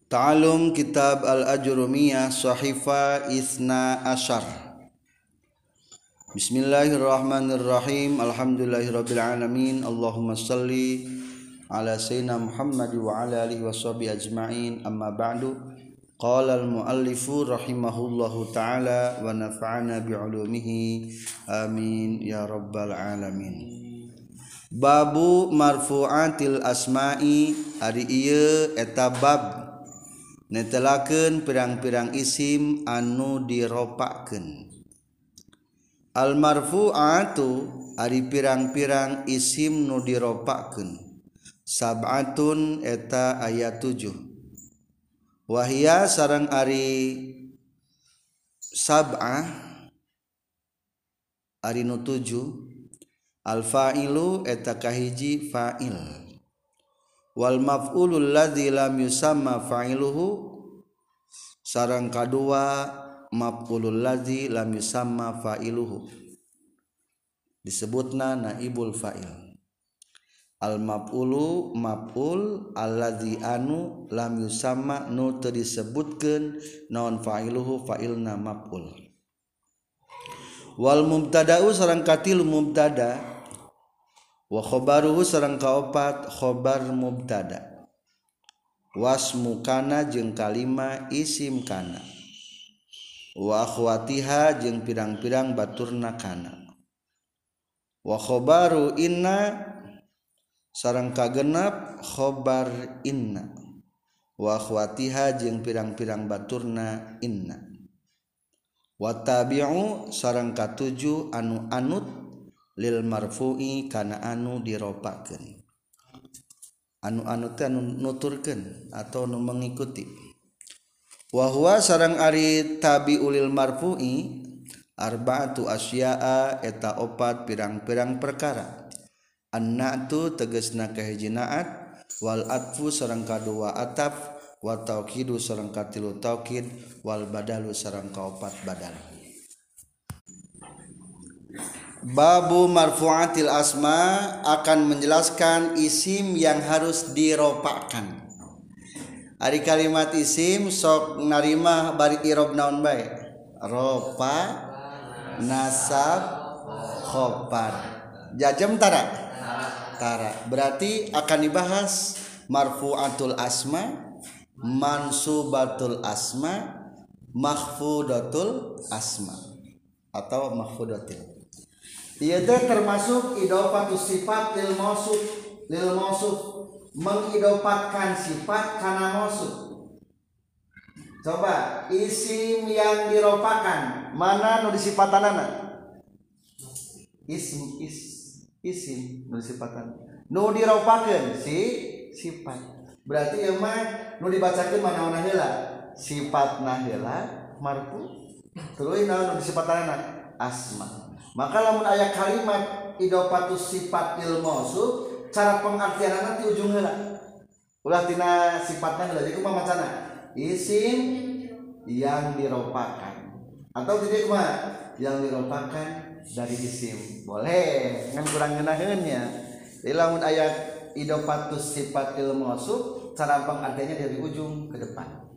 Ta'alum Kitab Al-Ajrumiyah Sahifa Isna Ashar. Bismillahirrahmanirrahim. Alhamdulillahirabbil alamin. Allahumma shalli ala sayyidina Muhammad wa ala alihi washabihi ajmain. Amma ba'du. Qala al-muallifu rahimahullahu ta'ala wa nafa'ana bi'ulumihi. Amin ya rabbal alamin. Babu marfu'atil asma'i ari ieu eta bab netelakeun pirang-pirang isim anu diropakeun. Al marfu'atu ari pirang-pirang isim nu diropakeun sab'atun eta aya 7. Wahia sareng ari sab'ah ari nu 7 al fa'ilu eta kahiji fa'il wal maf'ulul ladzi lam yusamma fa'iluhu sareng kadua maf'ulul ladzi lam yusamma fa'iluhu disebutna naibul fa'il. Al maf'ulu maf'ul alladzi anu lam yusamma nu teu disebutkeun naon fa'iluhu fa'ilna maf'ul. Wal mubtada'u sareng katilu mubtada wa khobaruhu sareng kaopat khobar mubtada wasmu kana jeung kalima isim kana wa akhwatiha jeung pirang-pirang baturna kana wa khobaru inna sareng kagenep khobar inna wa akhwatiha jeung pirang-pirang baturna inna wa tabi'u sareng katujuh anu anut lil marfu'i kana anu diropakeun. Anu teh anu nuturkeun atau nu mengikuti. Wa huwa sareng ari tabi'ul marfu'i arba'atu asya'a eta opat pirang-pirang perkara. An-na'tu tegasna kahiji na'at wal atfu sareng kadua ataf wa taukidu sareng katilu taukid wal badalu sareng kaopat badal. Babu marfu'atil asma akan menjelaskan isim yang harus diropakan. Ari kalimat isim sok narima bari irob naon bae? Ropa, nasab, khofad. Jajem tara? Tara. Berarti akan dibahas marfu'atul asma, mansubatul asma, makhfudatul asma atau makhfudatil. Ieu teh termasuk idofatus sifat lil mausuf mengidopatkan sifat kana mausuf. Coba isim yang diropakan mana nu disifatanana? Isim nu disifatan. Nu diropakeun si sifat. Berarti ieu mah nu dibacakeun manaonna heula? Sifatna heula marfu. Tuluy naon nu disifatanana? Asma. Maka lamun aya kalimat idofatus sifat lil mausuf cara pengartianna ti ujung heula. Ulah tina sifatna heula jadi kumaha macana? Isim yang diropakan. Atau jadi kumaha? Yang diropakan dari isim. Boleh, ngan kurang ngeunaheun nya. Jadi lamun aya idofatus sifat lil mausuf cara pengartiannya dari ujung ke depan.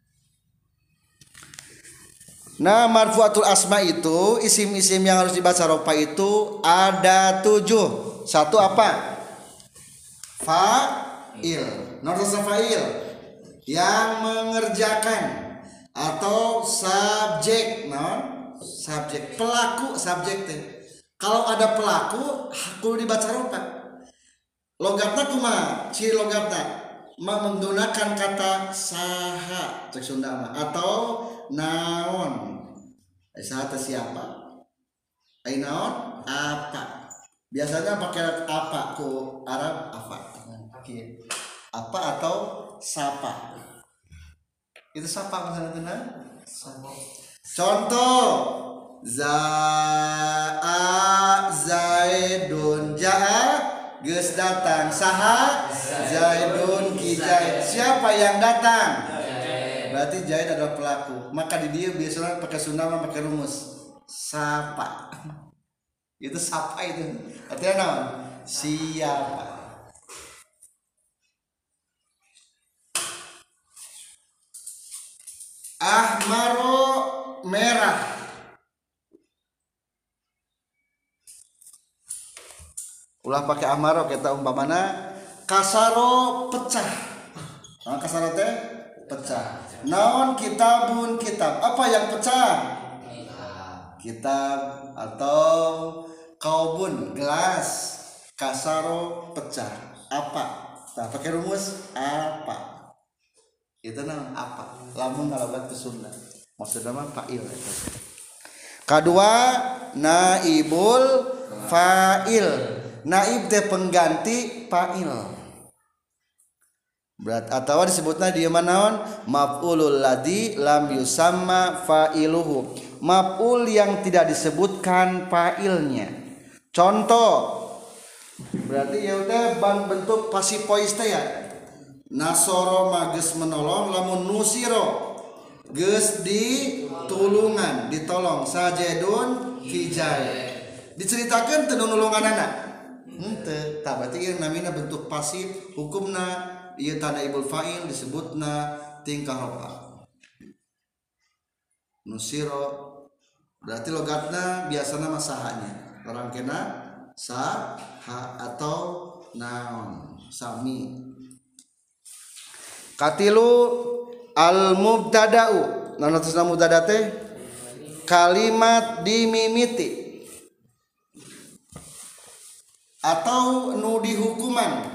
Nah, marfu'atul asma itu isim-isim yang harus dibaca ropa itu ada 7. Satu apa? Fa'il. Nomor fa'il yang mengerjakan atau subjek, subjek pelaku subjek teh. Kalau ada pelaku kudu dibaca ropa. Logatna kumaha? Ciri logatna menggunakan kata saha cek Sunda mah atau naon. Saha teh siapa? Ai naon? Apa. Biasanya pakai apa ku Arab apa. Apa atau sapa. Itu sapa maksudna? Contoh Zaidun jaa geus datang. Saha? Zaidun ki Zaid. Siapa yang datang? Berarti Zaid adalah pelaku. Maka di dia biasanya pakai Sunda pakai rumus sapa. Itu sapa itu. Artinya naon? Siapa. merah. Ulah pakai amaro kita umpamana kasaro pecah. Nah, kasaro teh pecah. Naon kitabun kitab. Apa yang pecah? Kitab atau kaubun gelas. Kasaro pecah. Apa? Nah, pakai rumus apa? Itu naon apa? Lamun ngalabat ke Sunda. Maksudnya mah fa'il eta. Kedua, naibul fa'il. Naib teh pengganti fa'il. Berat atau disebutna dia manaon maf'ulul ladzi lam yusamma fa'iluhu. Maf'ul yang tidak disebutkan fa'ilnya. Contoh berarti ya udah bentuk pasif voice teh ya. Nasoro mages menolong lamun nusiro geus ditulungan ditolong sajedun hijai. Diceritakeun teu nulunganana. Henteu, tah berarti ieu namina bentuk pasif, hukumna ieu tanaibul fa'il disebutna tingkah rofa. Nusiro berarti logatna biasana masahanya. Orang kena saha atau naon, sami. Katilu al mubtada'u. Naon artinya mubtada teh? Kalimat dimimiti. Atau nu dihukuman.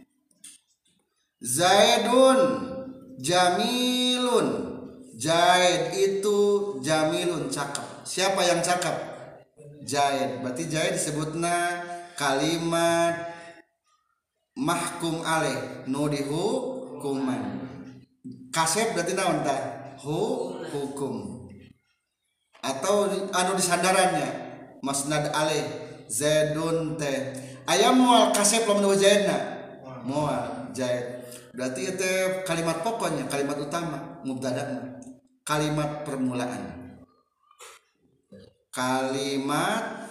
Zaidun jamilun. Zaid itu jamilun cakep. Siapa yang cakep? Zaid. Berarti Zaid disebutna kalimat mahkum alaih nu dihukuman. Kasep berarti naon tah? Hukum. Atau anu disandarannya masnad alaih Zaidun teh. Ayam mual kasep lamun Zaidna. Mual Zaid. Berarti itu kalimat pokoknya, kalimat utama, mubtada. Kalimat permulaan. Kalimat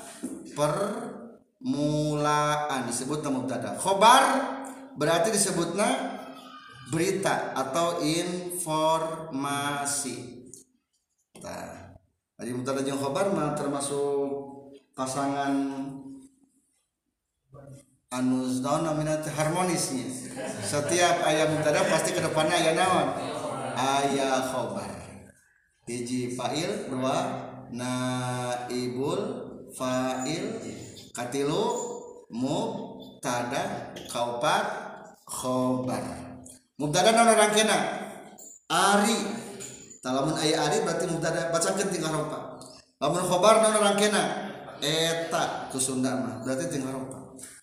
permulaan disebut mubtada. Khobar berarti disebutna berita atau informasi. Nah, jadi mubtada jeung khobar mah termasuk pasangan anu naon namina harmonisnya. Setiap aya mubtada pasti ke depanna aya naon? Aya khobar. Hiji fa'il, dua naibul fa'il, katilu mubtada, kaopat khobar. Mubtada naon rangkena? Ari. Lamun aya ari berarti mubtada bacakeun tingkah ropa. Lamun khobar naon rangkena? Eta ku Sunda mah berarti tingkah ropa.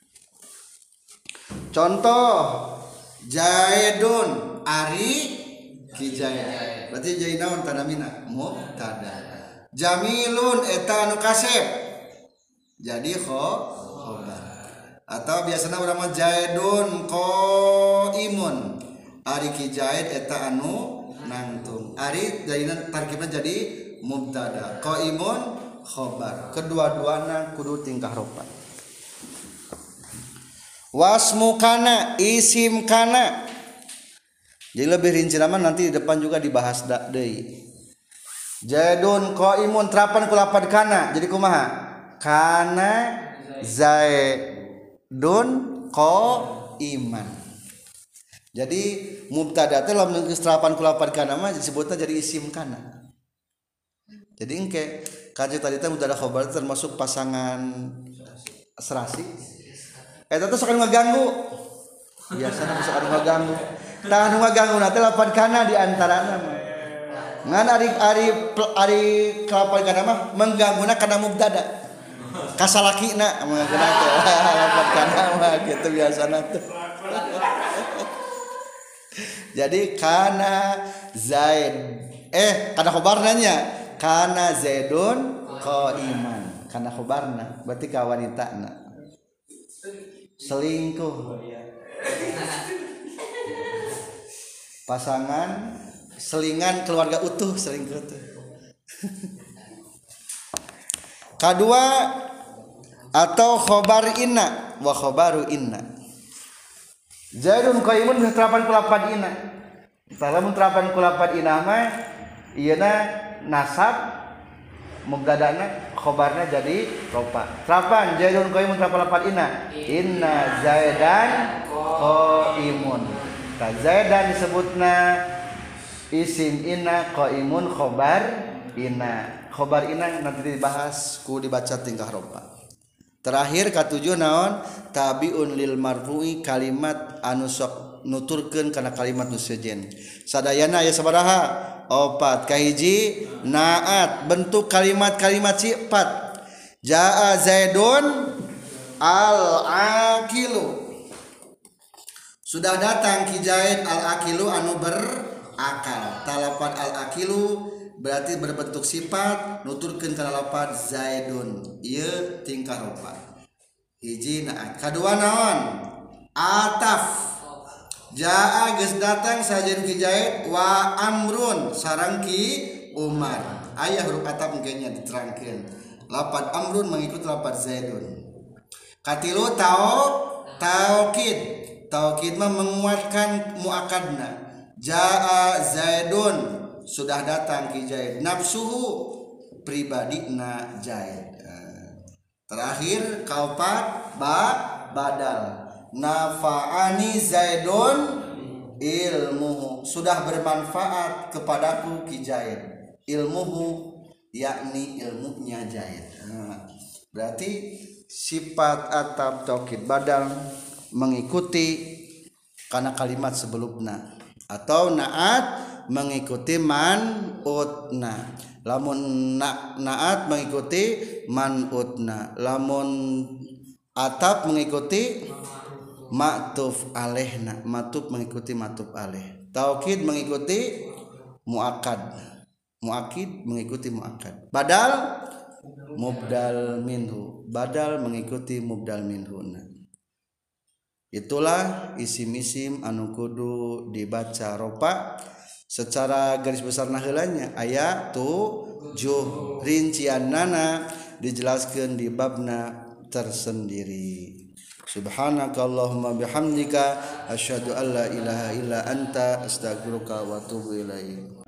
Contoh Zaidun ari kijaya. Berarti jadi naon tanamina? Mubtada. Jamilun eta anu kasep. Jadi khobar. Atau biasana urang mah Zaidun qaimun. Ari kijaid eta anu nangtung. Ari jadina tarkibna jadi mubtada. Qaimun khobar. Kedua-duana kudu tingkah ropa. Wasmu kana isim kana. Jadi lebih rinci nama nanti di depan juga dibahas deui. Zaidun qaimun terapan ku lapad kana. Jadi kumaha? Kana Zaidun qaiman. Jadi mubtada teh lamun geus terapan ku lapad kana mah disebutna jadi isim kana. Jadi engke kaji tadi teh mubtada khobar termasuk pasangan serasi. Eta teh sok ngaganggu. Biasana sok ngaganggu. Tah nu ngaganggu na teh lapan kana di antarana mah. Ngan ari kelapan kana mah menggangguna kana mubtada. Kasalakina mengangguna teh lapan kana mah kitu biasana teh. Jadi kana Zaid kana khobarna nya kana Zaidun qaiman. Kana khobarna berarti ka wanitana. Selingkuh pasangan selingan keluarga utuh selingkuh tuh. Kedua atau khobar inna wa khobaru inna. Zaidun qaimun terapan kulapad inna. Salamun terapan kulapad inna mah ieuna nasab mubtada'na khobarna jadi ropa. Terapan Zaidun qaimun terapan inna Zaidan qaimun. Ta Zaidan disebutna isim inna, qaimun khobar inna. Khobar inna nanti dibahas ku dibaca tingkah ropa. Terakhir katujuh naon tabiun lil marfu'i kalimat anu sok nuturkeun kana kalimat nu sejen. Sadayana aya sabaraha? Opat. Kahiji naat bentuk kalimat-kalimat sifat. Jaa Zaidun al-aqilu. Sudah datang ki Zaid al-aqilu anu berakal. Talafat al-aqilu berarti berbentuk sifat nuturkeun kana lafaz Zaidun. Ieu tingkah rupa. Hiji naat. Kadua naon? Ataf. Jaa geus datang sajen ki Zaid wa amrun sareng ki Umar. Aya huruf ataf engkenya diterangkeun. Lafaz amrun mengikuti lafaz Zaidun. Katilu taukid. Taukid mah menguatkan muakadna. Jaa Zaidun sudah datang ki Zaid. Nafsuhu pribadina Zaid. Terakhir kaopat badal. Nafa'ani Zaidun ilmuhu, sudah bermanfaat kepadaku ki Zaid. Ilmuhu yakni ilmunya Zaid. Berarti sifat atap taukid badal mengikuti karena kalimat sebelumnya, atau naat mengikuti man'utna. Lamun naat mengikuti man'utna. Lamun atap mengikuti ma'tuf alaihna. Ma'tuf mengikuti ma'tuf alaih. Taukid mengikuti muakkad. Muakkid mengikuti muakkad. Badal mubdal minhu. Badal mengikuti mubdal minhu. Itulah isim-isim anu kudu dibaca ropa. Secara garis besar naheulanya aya 7 rinciannana dijelaskeun di babna tersendiri. Subhanakallahumma bihamdika asyhadu an la ilaha illa anta astaghfiruka wa atubu ilaik.